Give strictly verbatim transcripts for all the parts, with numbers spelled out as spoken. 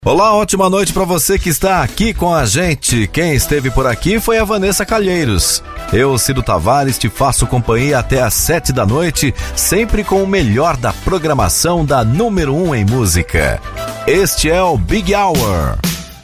Olá, ótima noite para você que está aqui com a gente. Quem esteve por aqui foi a Vanessa Calheiros. Eu, Cido Tavares, te faço companhia até às sete da noite, sempre com o melhor da programação da número um em música. Este é o Big Hour.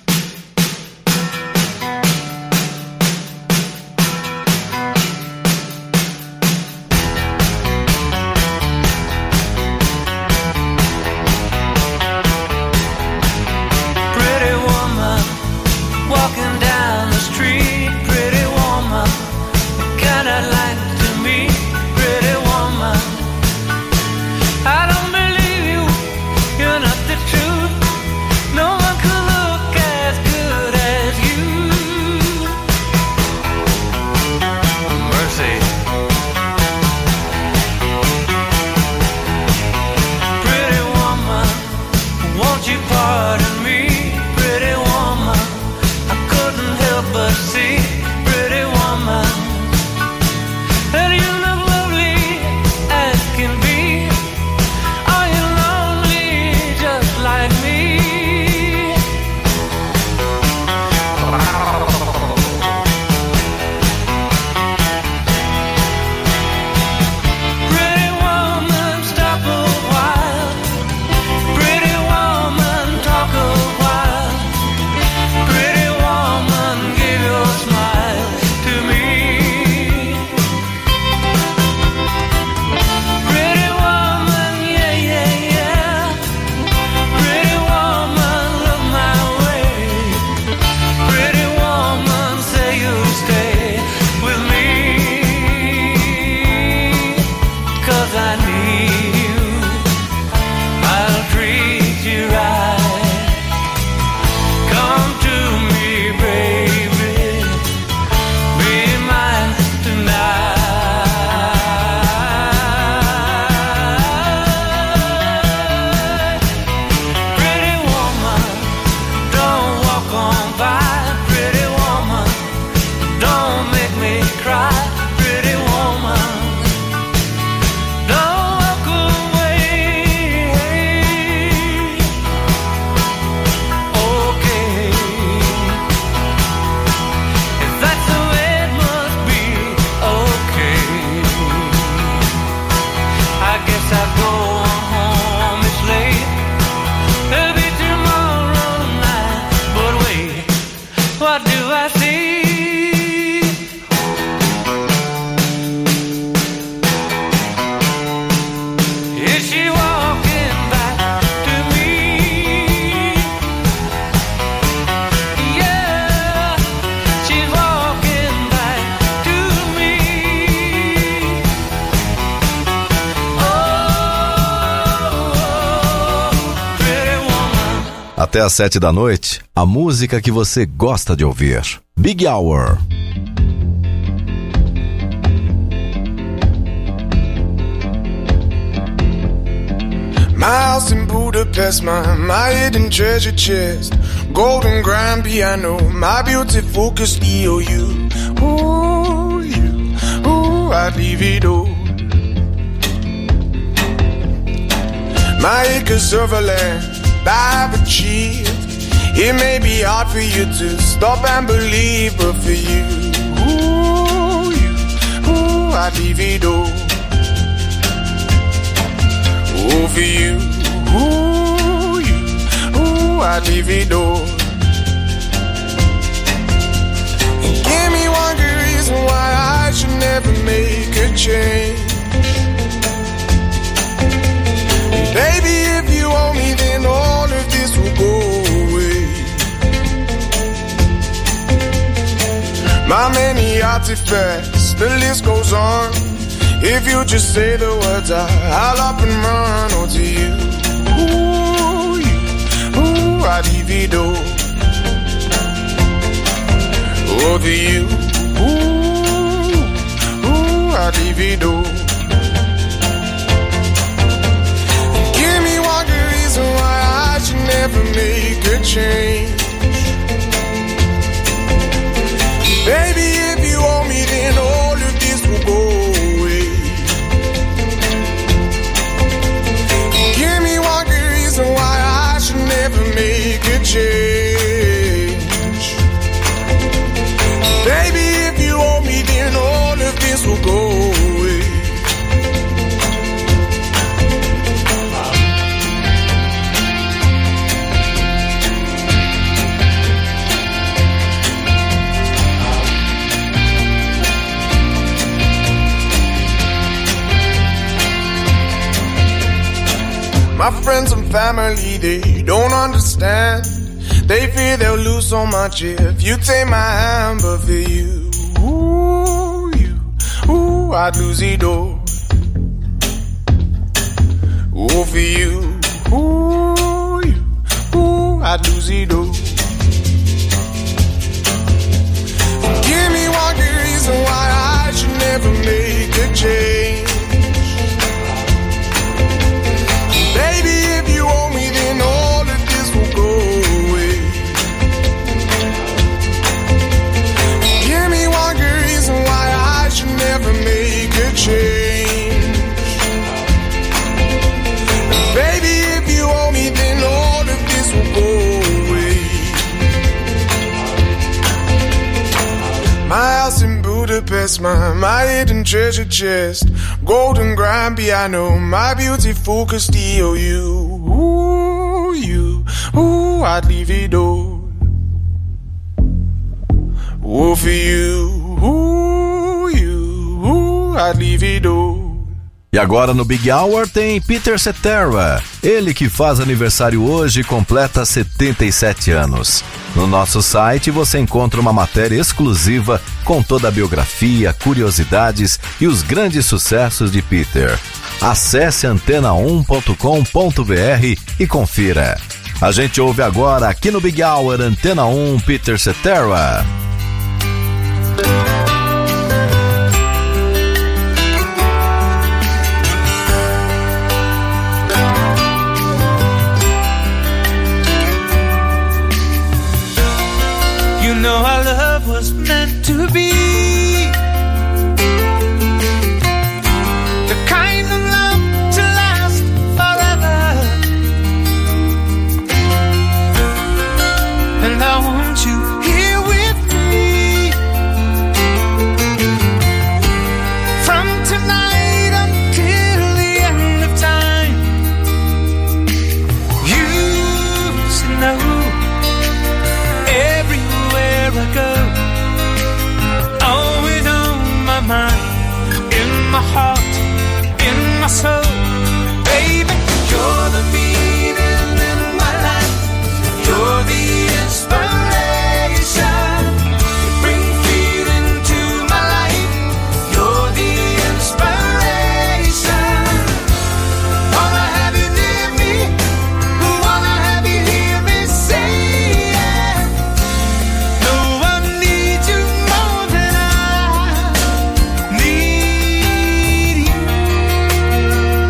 Até às sete da noite, a música que você gosta de ouvir. Big Hour. My house in Budapest, my, my hidden treasure chest, golden grand piano, my beauty focused E O U. Ooh, you, ooh, I'd leave it all. My acres of land I've achieved. It may be hard for you to stop and believe, but for you, ooh, you, ooh, I'd leave it all. Ooh, for you, ooh, you, ooh, I'd leave it all. And give me one good reason why I should never make a change. And baby, if you owe me, then all of this will go away. My many artifacts, the list goes on. If you just say the words, I, I'll up and run. Oh, to you, ooh, you, ooh, I'd leave it all. Oh, to you, ooh, ooh, I'd leave it all. Give me one good reason why I should never make a change. Baby, if you owe me, then all of this will go away. Give me one good reason why I should never make a change. family, they don't understand. They fear they'll lose so much if you take my hand, but for you, ooh, you, ooh, I'd lose it all. Ooh, for you, ooh, you, ooh, I'd lose it all. Give me one good reason why I should never make a change. Baby, if you owe me, then all of this will go away. Give me one good reason why I should never make a change. Baby, if you owe me, then all of this will go away. My house in Budapest, my, my hidden treasure chest, golden grand piano, my beautiful Castillo. You, ooh, you, ooh, I'd leave it all. Ooh, for you, ooh, you, ooh, I'd leave it all. E agora no Big Hour tem Peter Cetera, ele que faz aniversário hoje e completa setenta e sete anos. No nosso site você encontra uma matéria exclusiva com toda a biografia, curiosidades e os grandes sucessos de Peter. Acesse antena um ponto com ponto b r e confira. A gente ouve agora aqui no Big Hour Antena um Peter Cetera. You know our love was meant to be the kind of love to last forever. And I want you here with me from tonight until the end of time. You should know everywhere I go, always on my mind, in my heart, in my soul. Baby, you're the meaning in my life. You're the inspiration. You bring feeling to my life. You're the inspiration. Wanna have you near me, wanna have you hear me say yeah. No one needs you more than I need you.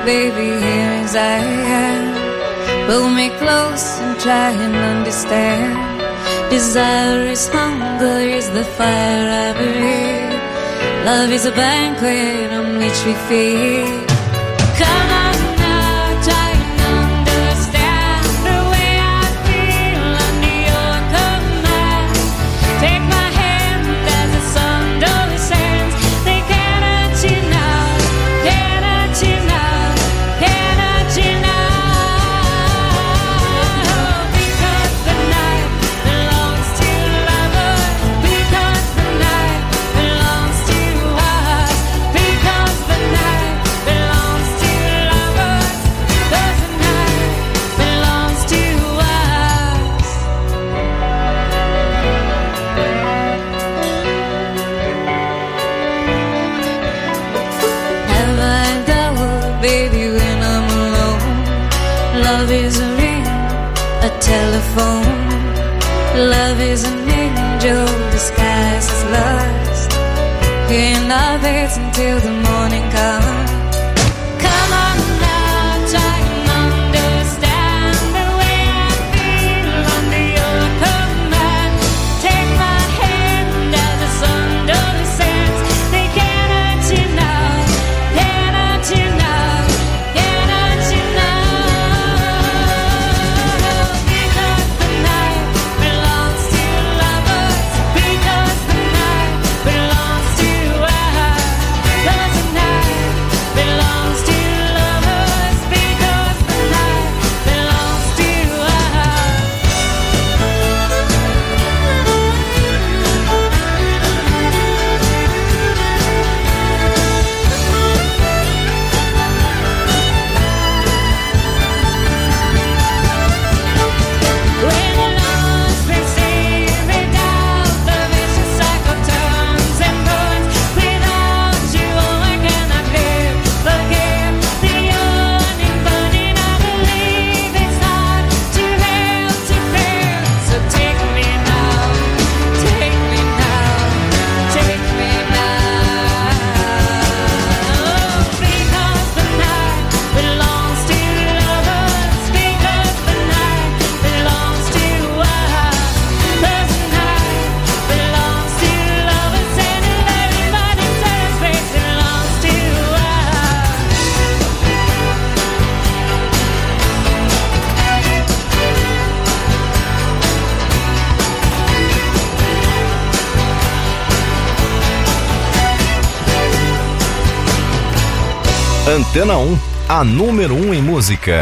baby, here as I am. Pull me close and try and understand. Desire is hunger, is the fire I breathe. Love is a banquet on which we feed. Come on now, try and understand the way I feel under your command. Take my hand as the sun descends. They cannot you now, cannot you now, cannot you now. Because the night belongs to lovers. Because the night belongs to us. Because the night belongs to lovers. Because the night belongs to us. Have I doubt, baby, when I'm alone? Love is a ring, a telephone. Love is an angel disguised as lust. In our beds until the morning comes. Come on now, try and understand the way I feel under your command. Take my hand as the sun descends. They cannot you now, cannot you now, cannot you now. Because the night belongs to lovers. Because the night belongs to us. Because the night belongs to lovers. Because the night belongs to us. When the lost receive without the vicious cycle turns and burns. Without you, I cannot live. Forgive the yearning, burning. I believe it's hard to help to feel. So take me now, take me now, take me now. Because the night belongs to lovers. Because the night belongs to us. Because the night belongs to lovers. And everybody says it belongs to us. Antena um, a número um em música.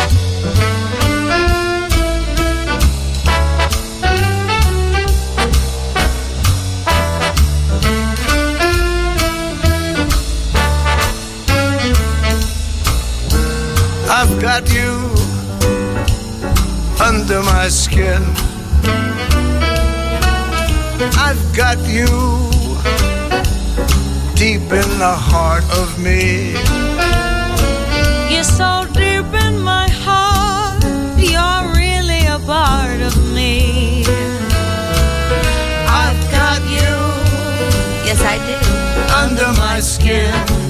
I've got you under my skin. I've got you deep in the heart of me. You're so deep in my heart. You're really a part of me. I've got you Yes, I do. under my skin.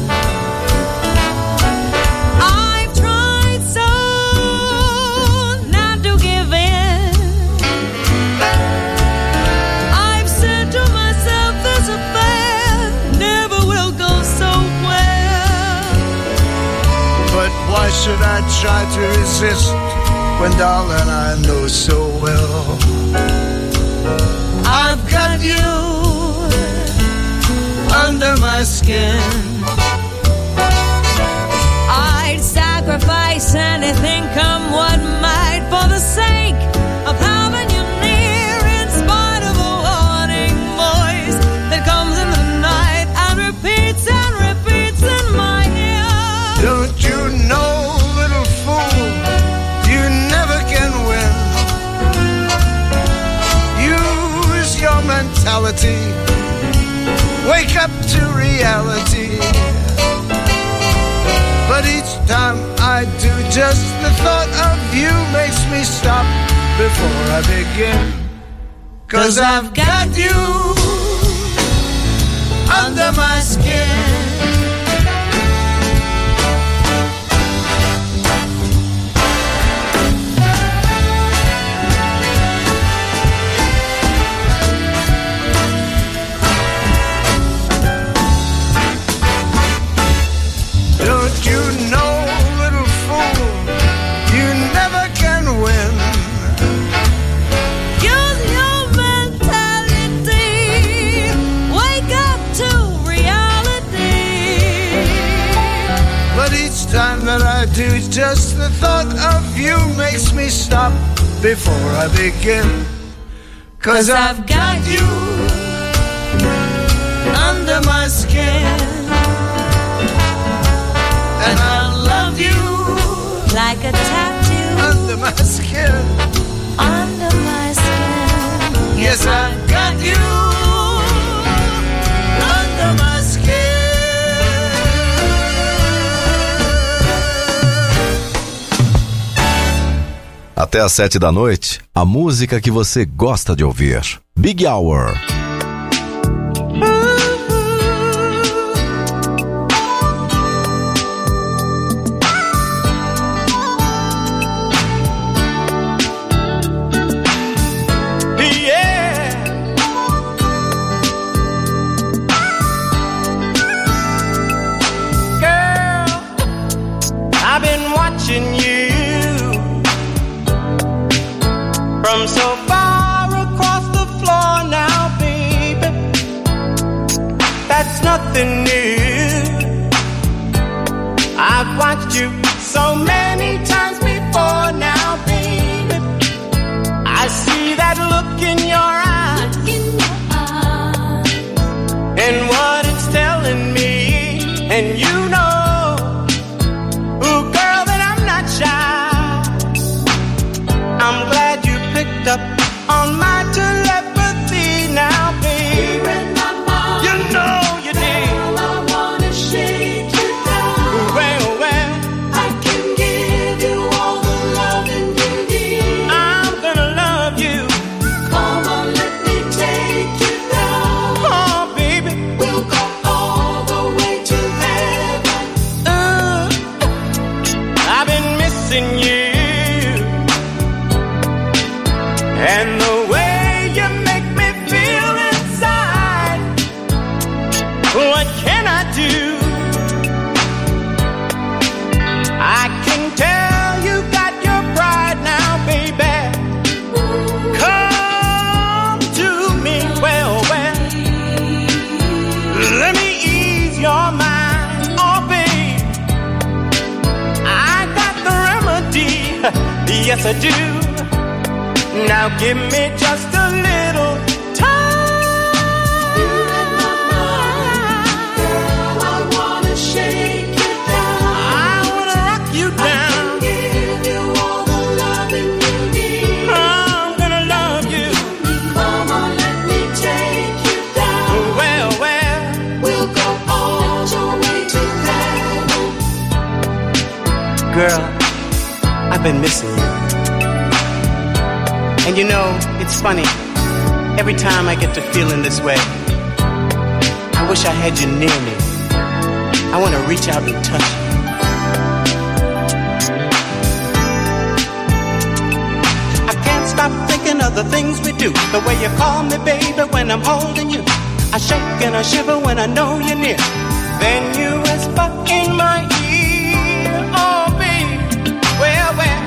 I've tried so not to give in. I've said to myself, this affair never will go so well. But why should I try to resist when, darling, I know so well I've got you under my skin. I'd sacrifice anything, come what might, for the sake of having you near. In spite of a warning voice that comes in the night and repeats and repeats in my ear. Don't you know, little fool, you never can win. Use your mentality, wake up to reality. But each time I do, just the thought of you makes me stop before I begin. 'Cause I've got you under my skin. thought of you makes me stop before I begin. 'Cause I've got you under my skin, and I love you like a tattoo under my skin. under my skin. Yes, I've got you under my skin. Até às sete da noite, a música que você gosta de ouvir. Big Hour. From so far across the floor now, baby, that's nothing new. I've watched you so many times before now, baby. I see that look in your eyes, and what it's telling me, and you know, ooh, girl, that I'm not shy. I'm glad you picked up on my telepathy now, baby. You know you did. Girl, I wanna shake you down. Well, well, I can give you all the loving you need. I'm gonna love you. Come on, let me take you down. Oh, baby. We'll go all the way to heaven. Uh, I've been missing you. And the way you make me feel inside, what can I do? I can tell you got your pride now, baby. Come to me, well, well. Let me ease your mind, oh, babe. I got the remedy, yes I do. Now give me just a little time. You're in my mind. Girl, I wanna shake you down. I wanna rock you I down. can give you all the loving you need. I'm gonna love you. Come on, let me take you down. Well, well, We'll go all the way to heaven. girl, I've been missing you. And you know, it's funny. Every time I get to feeling this way, I wish I had you near me. I want to reach out and touch you. I can't stop thinking of the things we do. The way you call me, baby, when I'm holding you. I shake and I shiver when I know you're near. Then you whisper in my ear, oh, baby, well, well.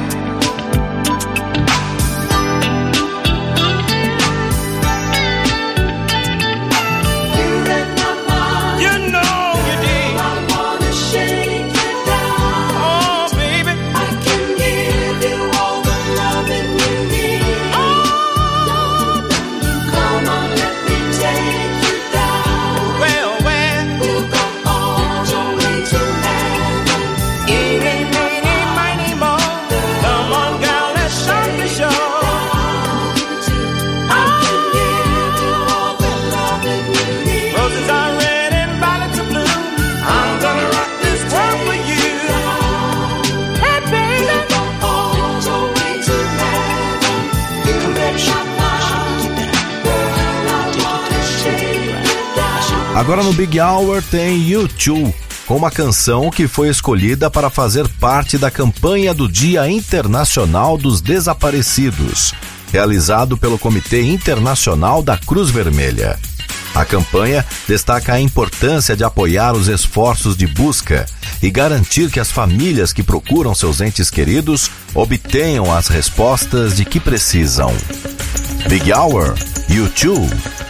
Agora no Big Hour tem U dois, com uma canção que foi escolhida para fazer parte da campanha do Dia Internacional dos Desaparecidos, realizado pelo Comitê Internacional da Cruz Vermelha. A campanha destaca a importância de apoiar os esforços de busca e garantir que as famílias que procuram seus entes queridos obtenham as respostas de que precisam. Big Hour, U dois.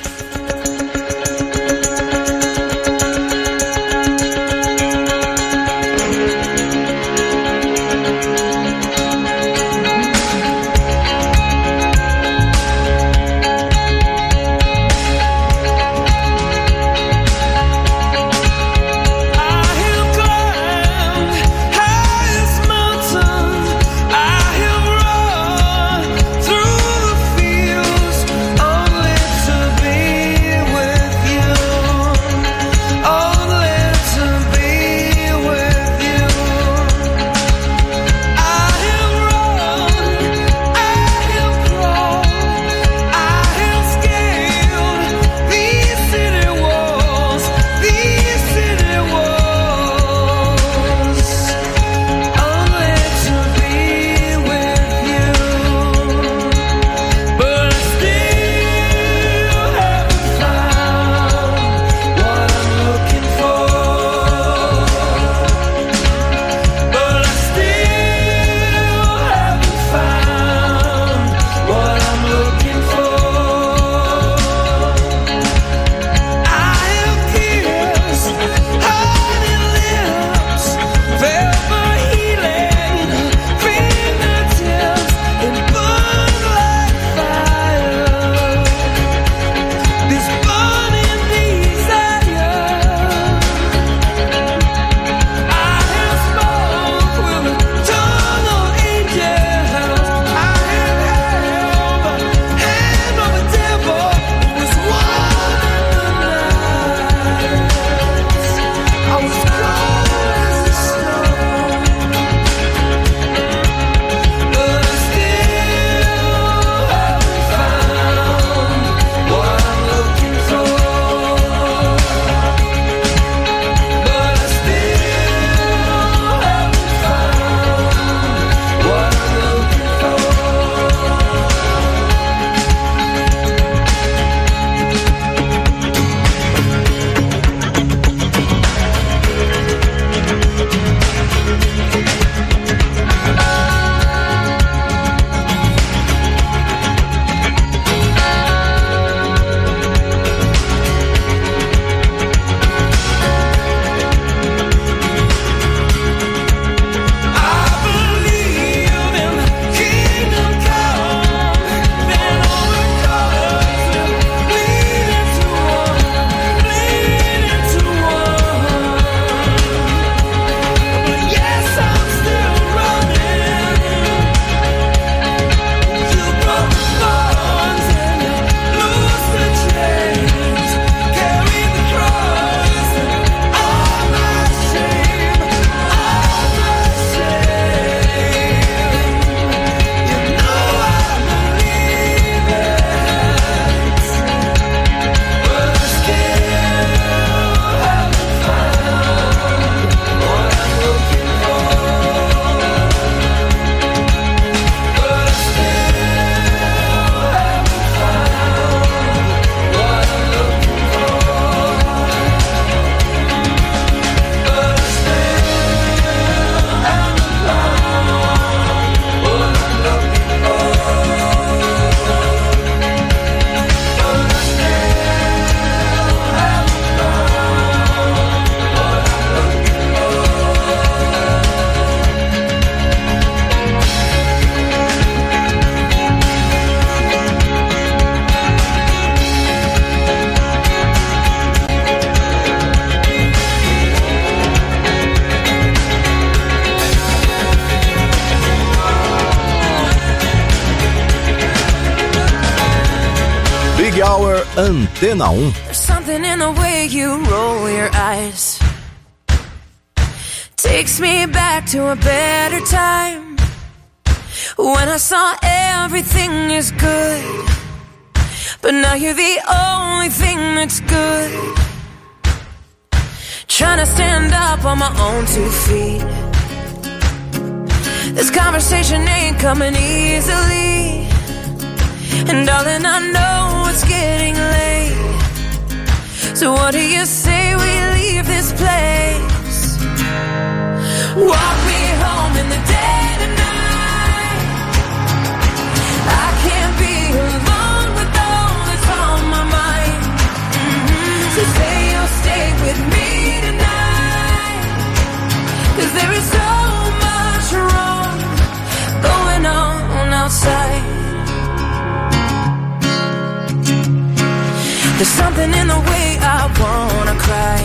Big Hour, Antena um. There's something in the way you roll your eyes. Takes me back to a better time, when I saw everything is good, but now you're the only thing that's good. Trying to stand up on my own two feet. This conversation ain't coming easily, and darling, I know it's getting late. So what do you say we leave this place? Walk me home in the dead of night. I can't be alone with all that's on my mind. Mm-hmm. So say you'll stay with me tonight, 'cause there is so much wrong going on outside. There's something in the way I wanna cry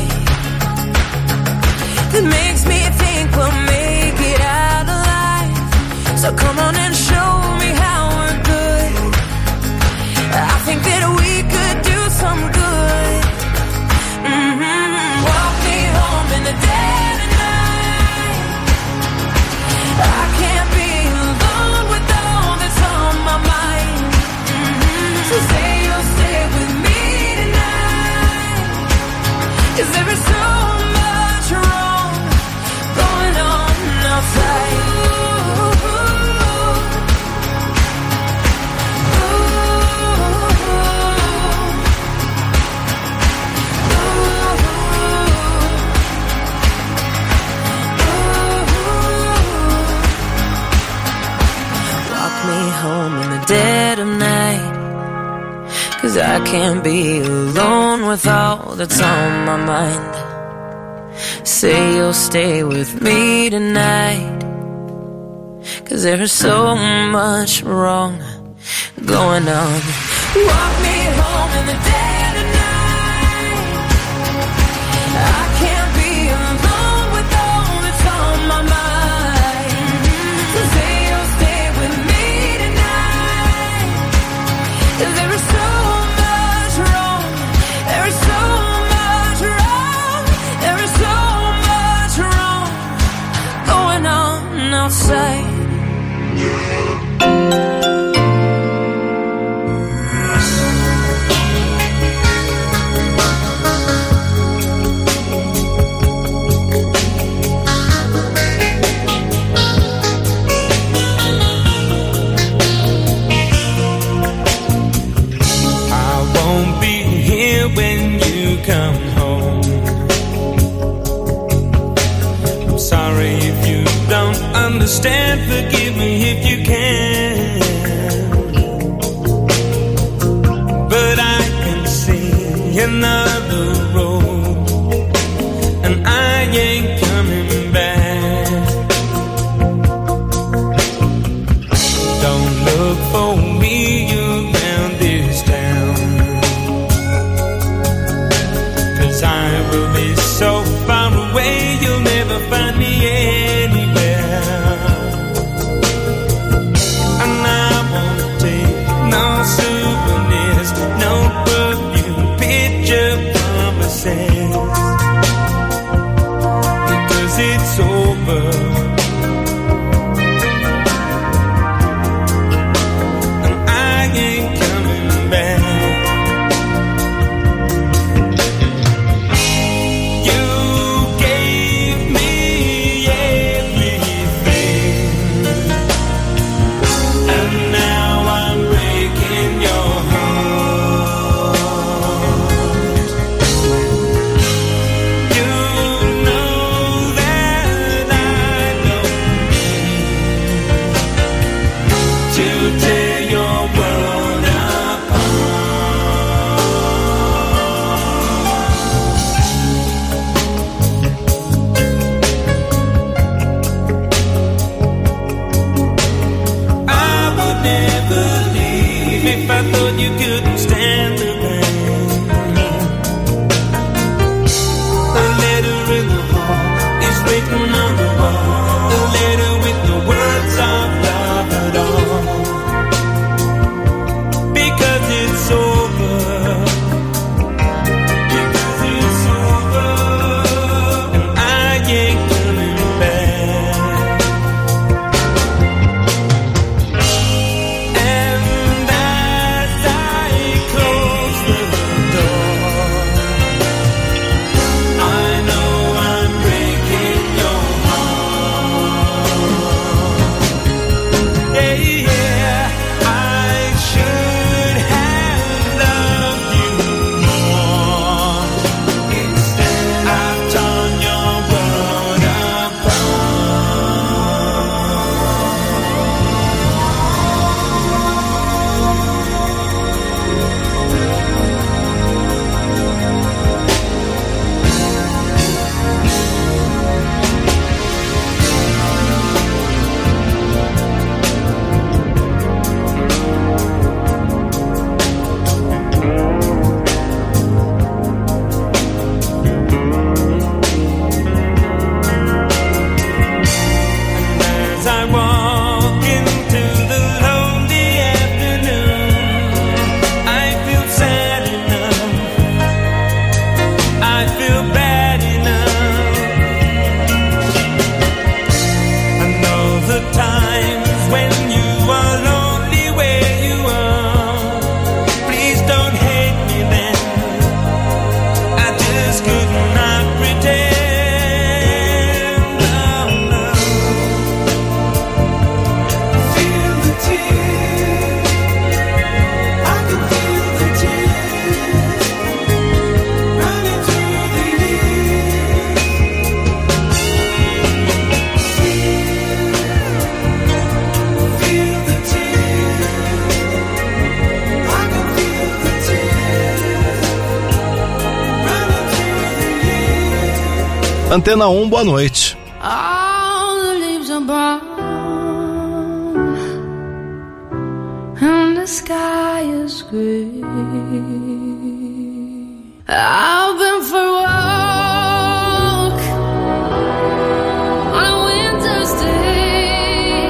that makes me think we'll make it out alive. So come on and show me how we're good. I think that we could do some good. Mm-hmm. Walk me home in the dead of night. I can't be alone with all that's on my mind. Mm-hmm. So say you'll stay with me tonight, 'cause there is so much wrong going on outside. Ooh, ooh, ooh. Walk me home in the dead of night, 'cause I can't be alone with all that's on my mind. Say you'll stay with me tonight, 'cause there's so much wrong going on. Walk me home in the dead of night. I can't be alone with all that's on my mind. So say you'll stay with me tonight, 'cause there is so much wrong. There is so much wrong. There is so much wrong going on outside. I won't be here when you come home. I'm sorry if you don't understand. Forgive me if you can. But I can see another road, and I ain't coming back. Don't look for me around this town, 'cause I will be so far away you'll never find me anywhere. And I won't take no souvenirs, no perfume, picture promises, because it's over. And I ain't coming back. You gave me everything, and now I'm breaking your heart. You know that I don't mean to tear your world apart. I would never leave if I thought you couldn't stand the pain. A letter in the hall is written on the wall, a letter with no words of love at all, because it's over. Antena um, boa noite. All the leaves are brown and the sky is gray. I've been for a walk on a winter's day.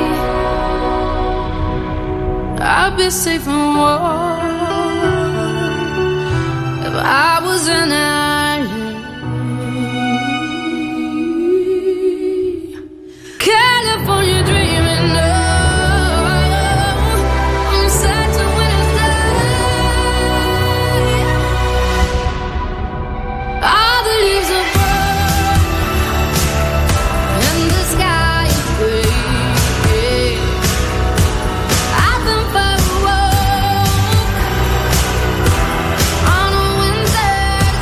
I'd be safe and warm if I was in L A. California dreaming, no, I'm such a winter's day. All the leaves are brown and the sky is gray. I've been for a walk on a winter's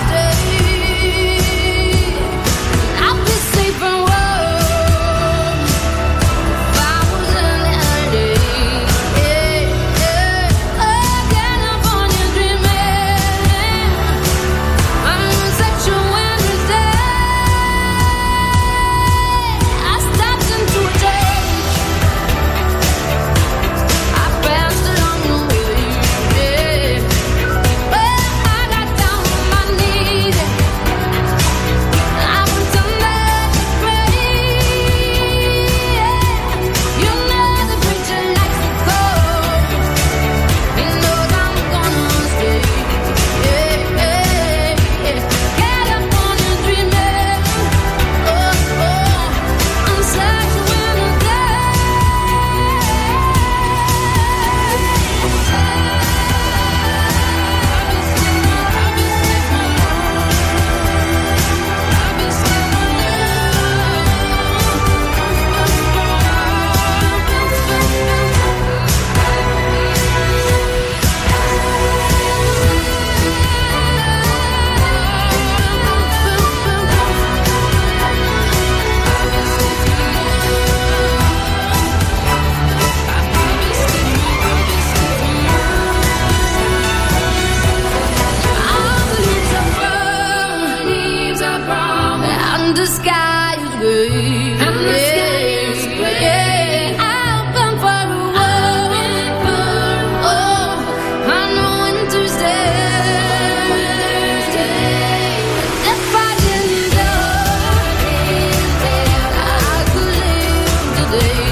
day. I'll be safe and warm. The sky is gray, and the sky is gray. I've been for a walk, oh, on a winter's day. If I didn't know I could live today.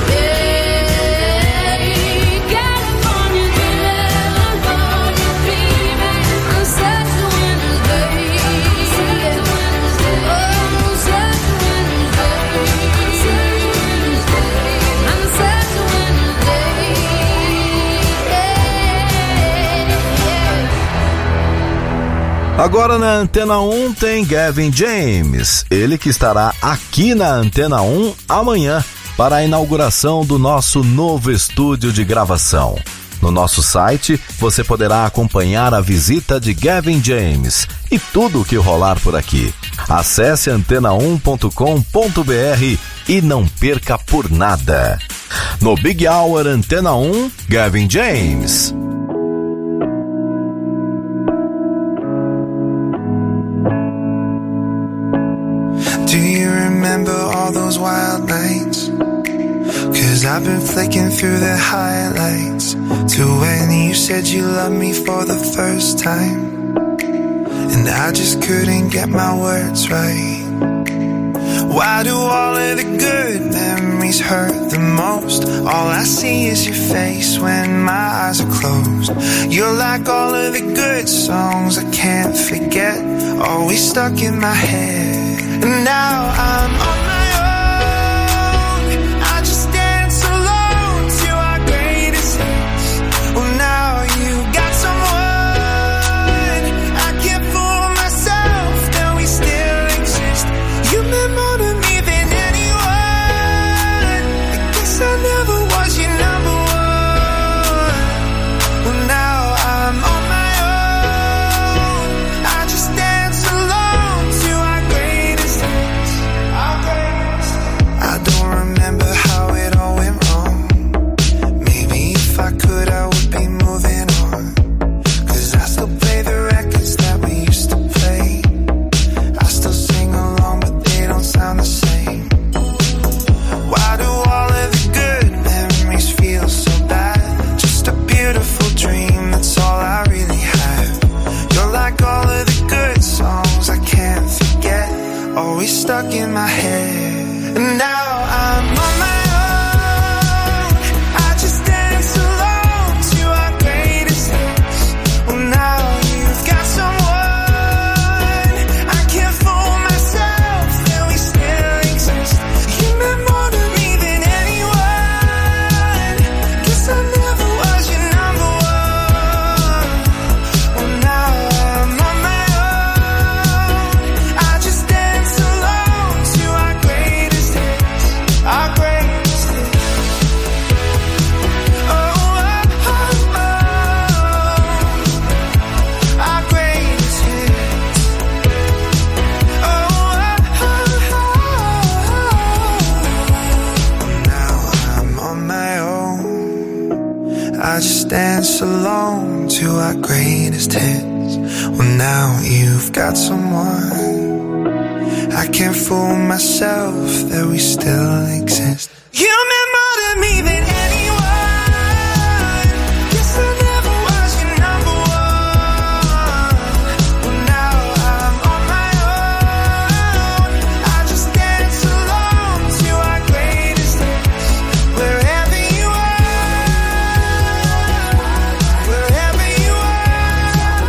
California dreaming, on such a winter's day. Agora na Antena um tem Gavin James, ele que estará aqui na Antena um amanhã para a inauguração do nosso novo estúdio de gravação. No nosso site você poderá acompanhar a visita de Gavin James e tudo o que rolar por aqui. Acesse antena um ponto com ponto b r e não perca por nada. No Big Hour Antena um, Gavin James. Do you remember all those wild nights? 'Cause I've been flicking through the highlights to when you said you loved me for the first time, and I just couldn't get my words right. Why do all of the good memories hurt the most? All I see is your face when my eyes are closed. You're like all of the good songs I can't forget, always stuck in my head. And now I'm on my own, I just dance alone to our greatest hits. Well, now you got someone, I can't fool myself, that we still exist. You meant more to me than anyone, I guess I never was your number one. Well, now I'm on my own, I just dance alone to our greatest hits, our greatest hits. dance alone to our greatest hits. Well, now you've got someone. I can't fool myself that we still exist. You meant more to me than anyone. Guess I never was your number one. Well, now I'm on my own. I just dance alone to our greatest hits. Wherever you are, wherever you are,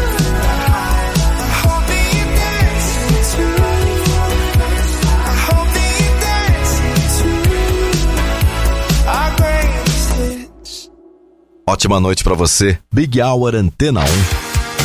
I hope that you dance too. I hope that you dance too. Our greatest hits. Ótima noite pra você. Big Hour Antena um.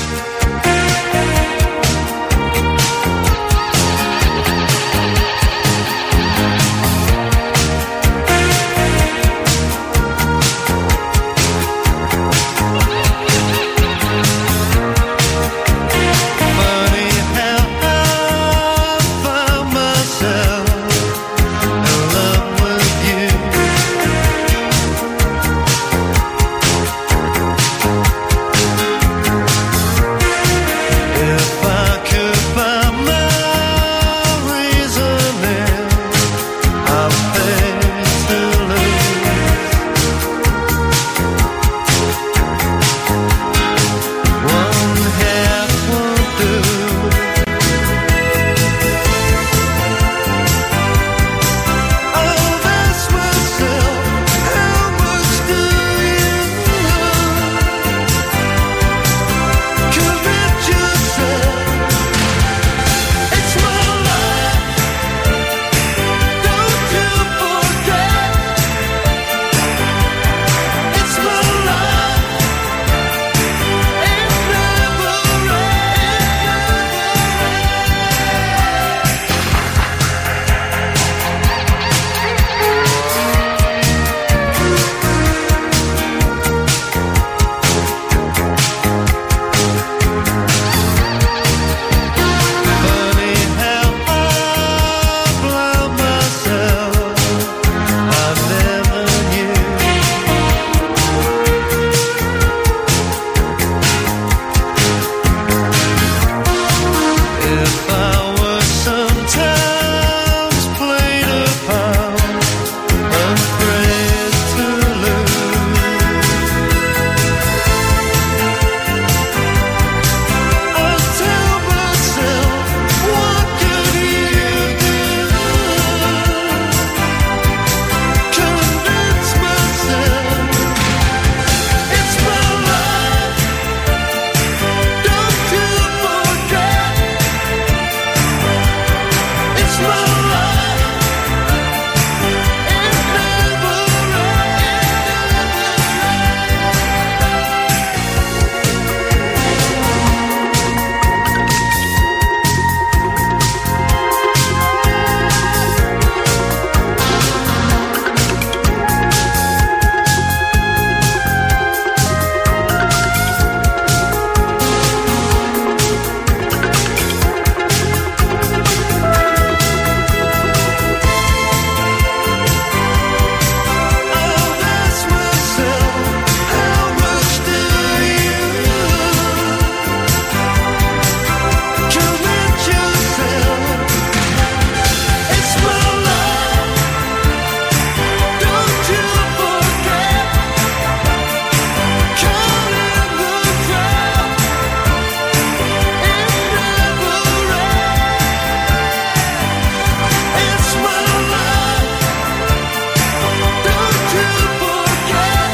Funny how I found myself in love with you. If I could find my reasoning, I'm paid to lose. One half won't do. Oh, that's myself. How much do you commit yourself? It's my life. Don't you forget. It's my life. It never Funny how I blind myself. I never knew. If I were sometimes played upon, afraid to lose, I tell myself, what could you do? Convince myself, it's my life. Don't you forget, it's my life. It never Oh, that's myself. How much do you commit yourself? It's my life. Don't you forget. Caught in the crowd. It never ends. It's my life. Don't you forget.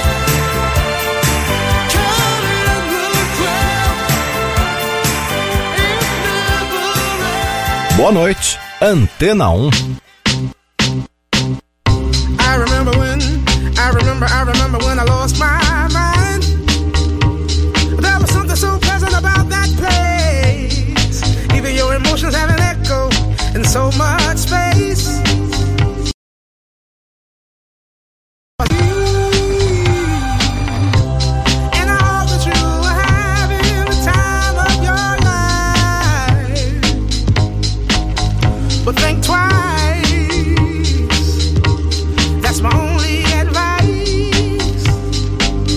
Caught in the crowd. It never ends. Boa noite, Antena um. I remember when, I remember, I remember when I lost my mind. There was something so pleasant about that place. Even your emotions have an echo in so much space. And I hope that you are having the time of your life. But think twice. That's my only advice.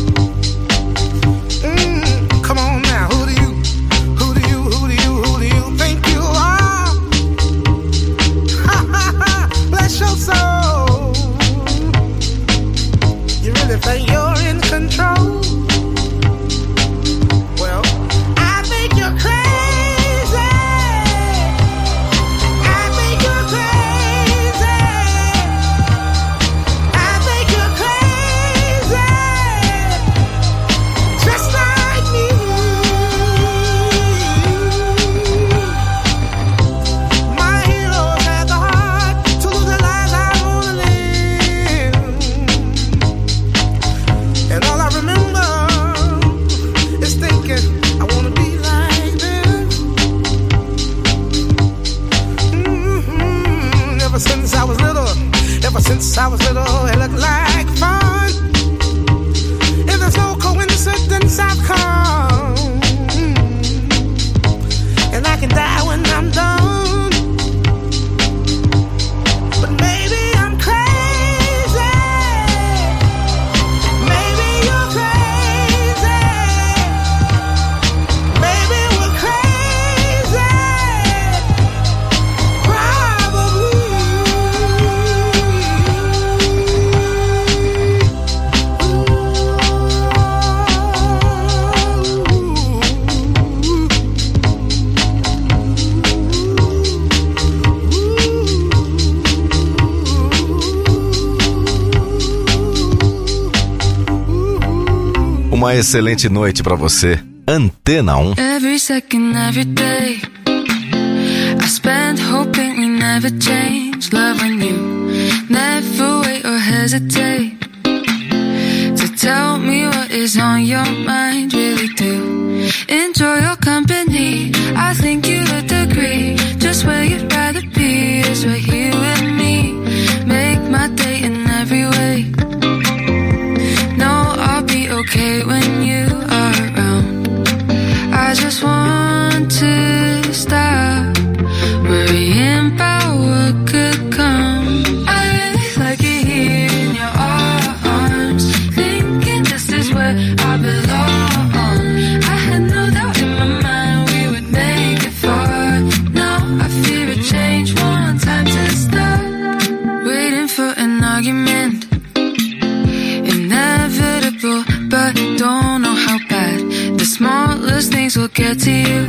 Uma excelente noite pra você. Antena um. Every second, every day I spend hoping we never change. Loving you, never wait or hesitate to tell me what is on your mind. Really do enjoy your company. I think you would agree. Just where you'd rather be is right here with me. Make my day in every way. No, I'll be okay when you are around. I just want to stop worrying about what could come. I really like it here in your arms, thinking this is where I belong. I had no doubt in my mind we would make it far. Now I fear a change, one time to stop waiting for an argument. Inevitable, but don't know how bad the smallest things will get to you.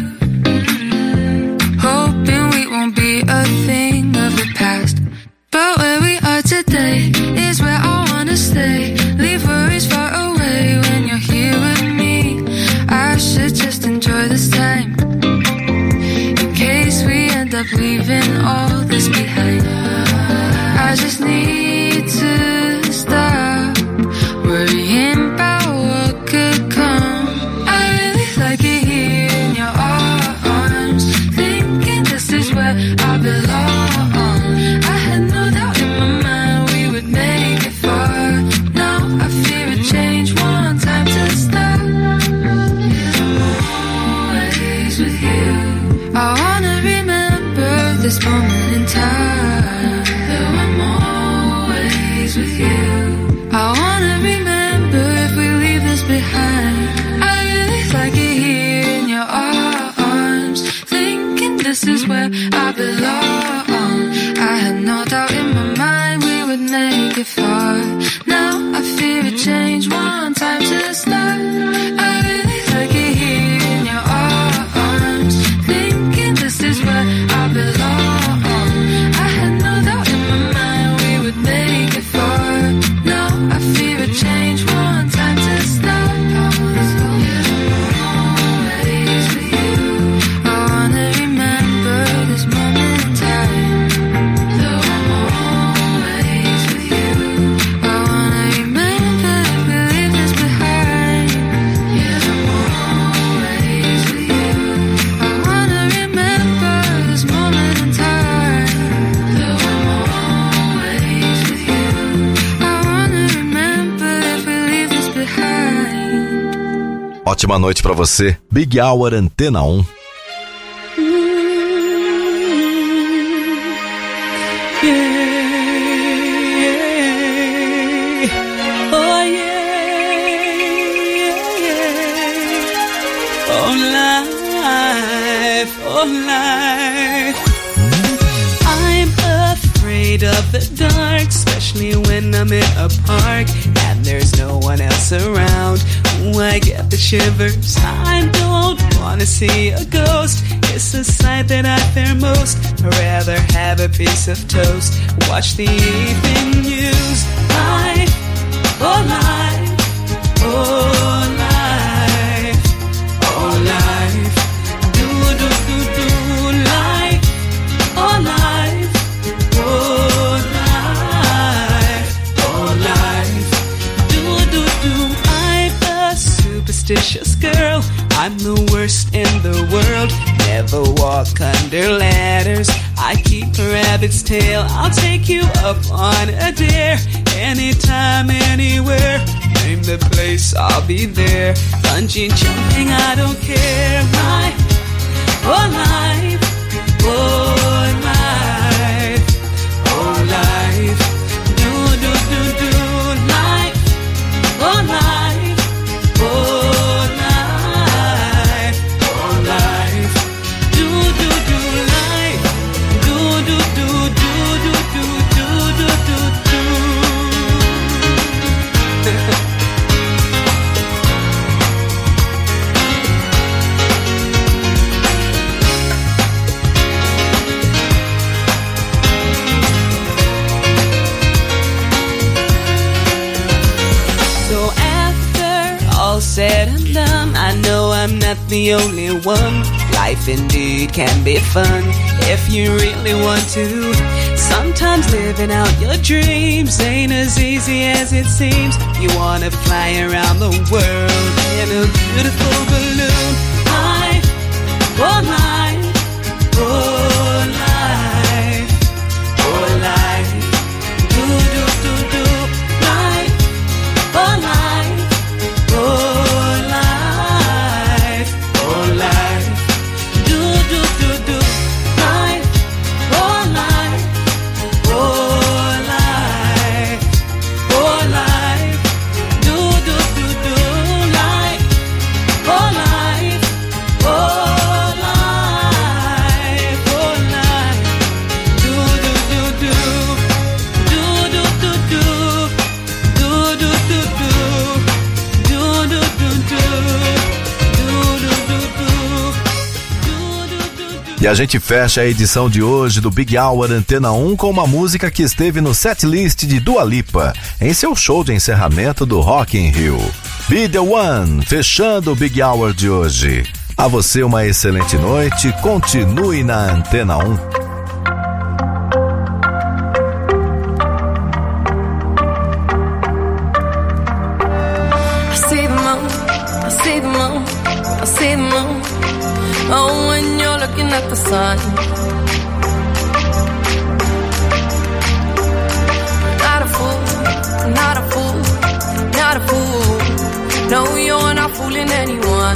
Hoping we won't be a thing of the past, but where we are today is where I wanna stay. Leave worries far away when you're here with me. I should just enjoy this time, in case we end up leaving all this behind. I just need to stop worrying about what could come. I really like it here in your arms, thinking this is where I belong. I had no doubt in my mind we would make it far. Now I fear a change, one time to stop. Always with you. I wanna remember this moment in time. Though I'm always with you. I wanna remember if we leave this behind. I really like it here in your arms, thinking this is where I belong. I had no doubt in my mind we would make it far. Now I fear a change, one time to start. I really like it here in your arms, thinking this is where I belong. I had no doubt in my mind we would make it far. Now I fear a change, one time to start. Always with you. I wanna remember this moment in time. Though I'm always with you. I wanna remember if we leave this behind. Yeah, I'm always with you. I wanna remember this moment in time. Though I'm always with you. I wanna remember if we leave this behind. Ótima noite pra você. Big Hour Antena um. Oh yeah, oh life, oh life. I'm afraid of the dark, especially when I'm in a park and there's no one else around. Ooh, I get the shivers. I don't wanna see a ghost. It's a sight that I fear most. I'd rather have a piece of toast, watch the evening news. Life, oh life, oh life, oh life. Do do do do life, oh life, oh life, oh life. Do do do. I'm a superstitious girl. I'm the worst in the world. Never walk under ladders. I keep a rabbit's tail. I'll take you up on a dare. Anytime, anywhere. Name the place, I'll be there. Bungee jumping, I don't care. Life, oh life, oh life, oh life. Do do do do life, oh life, oh life, oh life. Do do do life, do do do do do do do do do do. some, I know I'm not the only one. Life indeed can be fun if you really want to. Sometimes living out your dreams ain't as easy as it seems. You wanna fly around the world in a beautiful balloon. Life, oh life, oh life, oh life. Do, do, do, do. Life, oh life, oh life, oh life. Do, do, do, do. Life, oh life, oh life, oh life. Do, do, do, do. Life, oh life, oh life, oh life. Do, do, do, do. Do, do, do, do. Do, do, do, do. Do, do, do, do. Do, do, do, do. Do, do, do, do. E a gente fecha a edição de hoje do Big Hour Antena um com uma música que esteve no setlist de Dua Lipa, em seu show de encerramento do Rock in Rio. Be The One, fechando o Big Hour de hoje. A você uma excelente noite, continue na Antena um. I see the moon, I see the moon, I see the moon. Oh, when you're looking at the sun. Not a fool, not a fool, not a fool. No, you're not fooling anyone.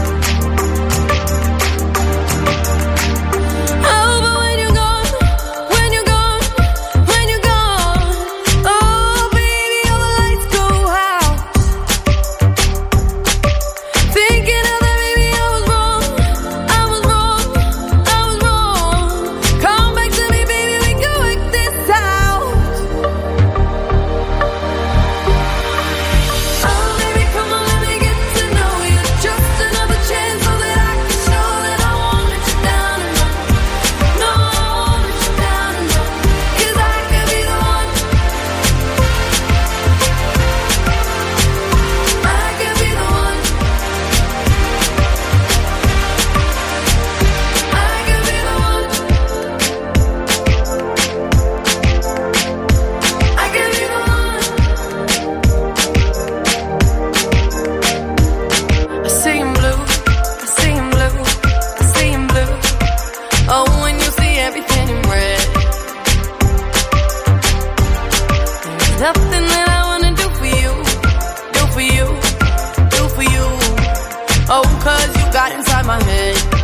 Oh, but when you're gone, when you're gone, when you're gone, oh, baby, all the lights go out. Thinking of that, baby, I was wrong, I was wrong, I was wrong. Come back to me, baby, we can work this out. Oh, baby, come on, let me get to know you. Just another chance so that I can show that I won't let you down and run. No, I won't let you down and run. 'Cause I could be the one. I could be the one. I could be the one. I could be the one. I see him blue, I see him blue, I see him blue. Oh, when you see everything in red. There's nothing that I wanna do for you, do for you, do for you. Oh, 'cause you got inside my head.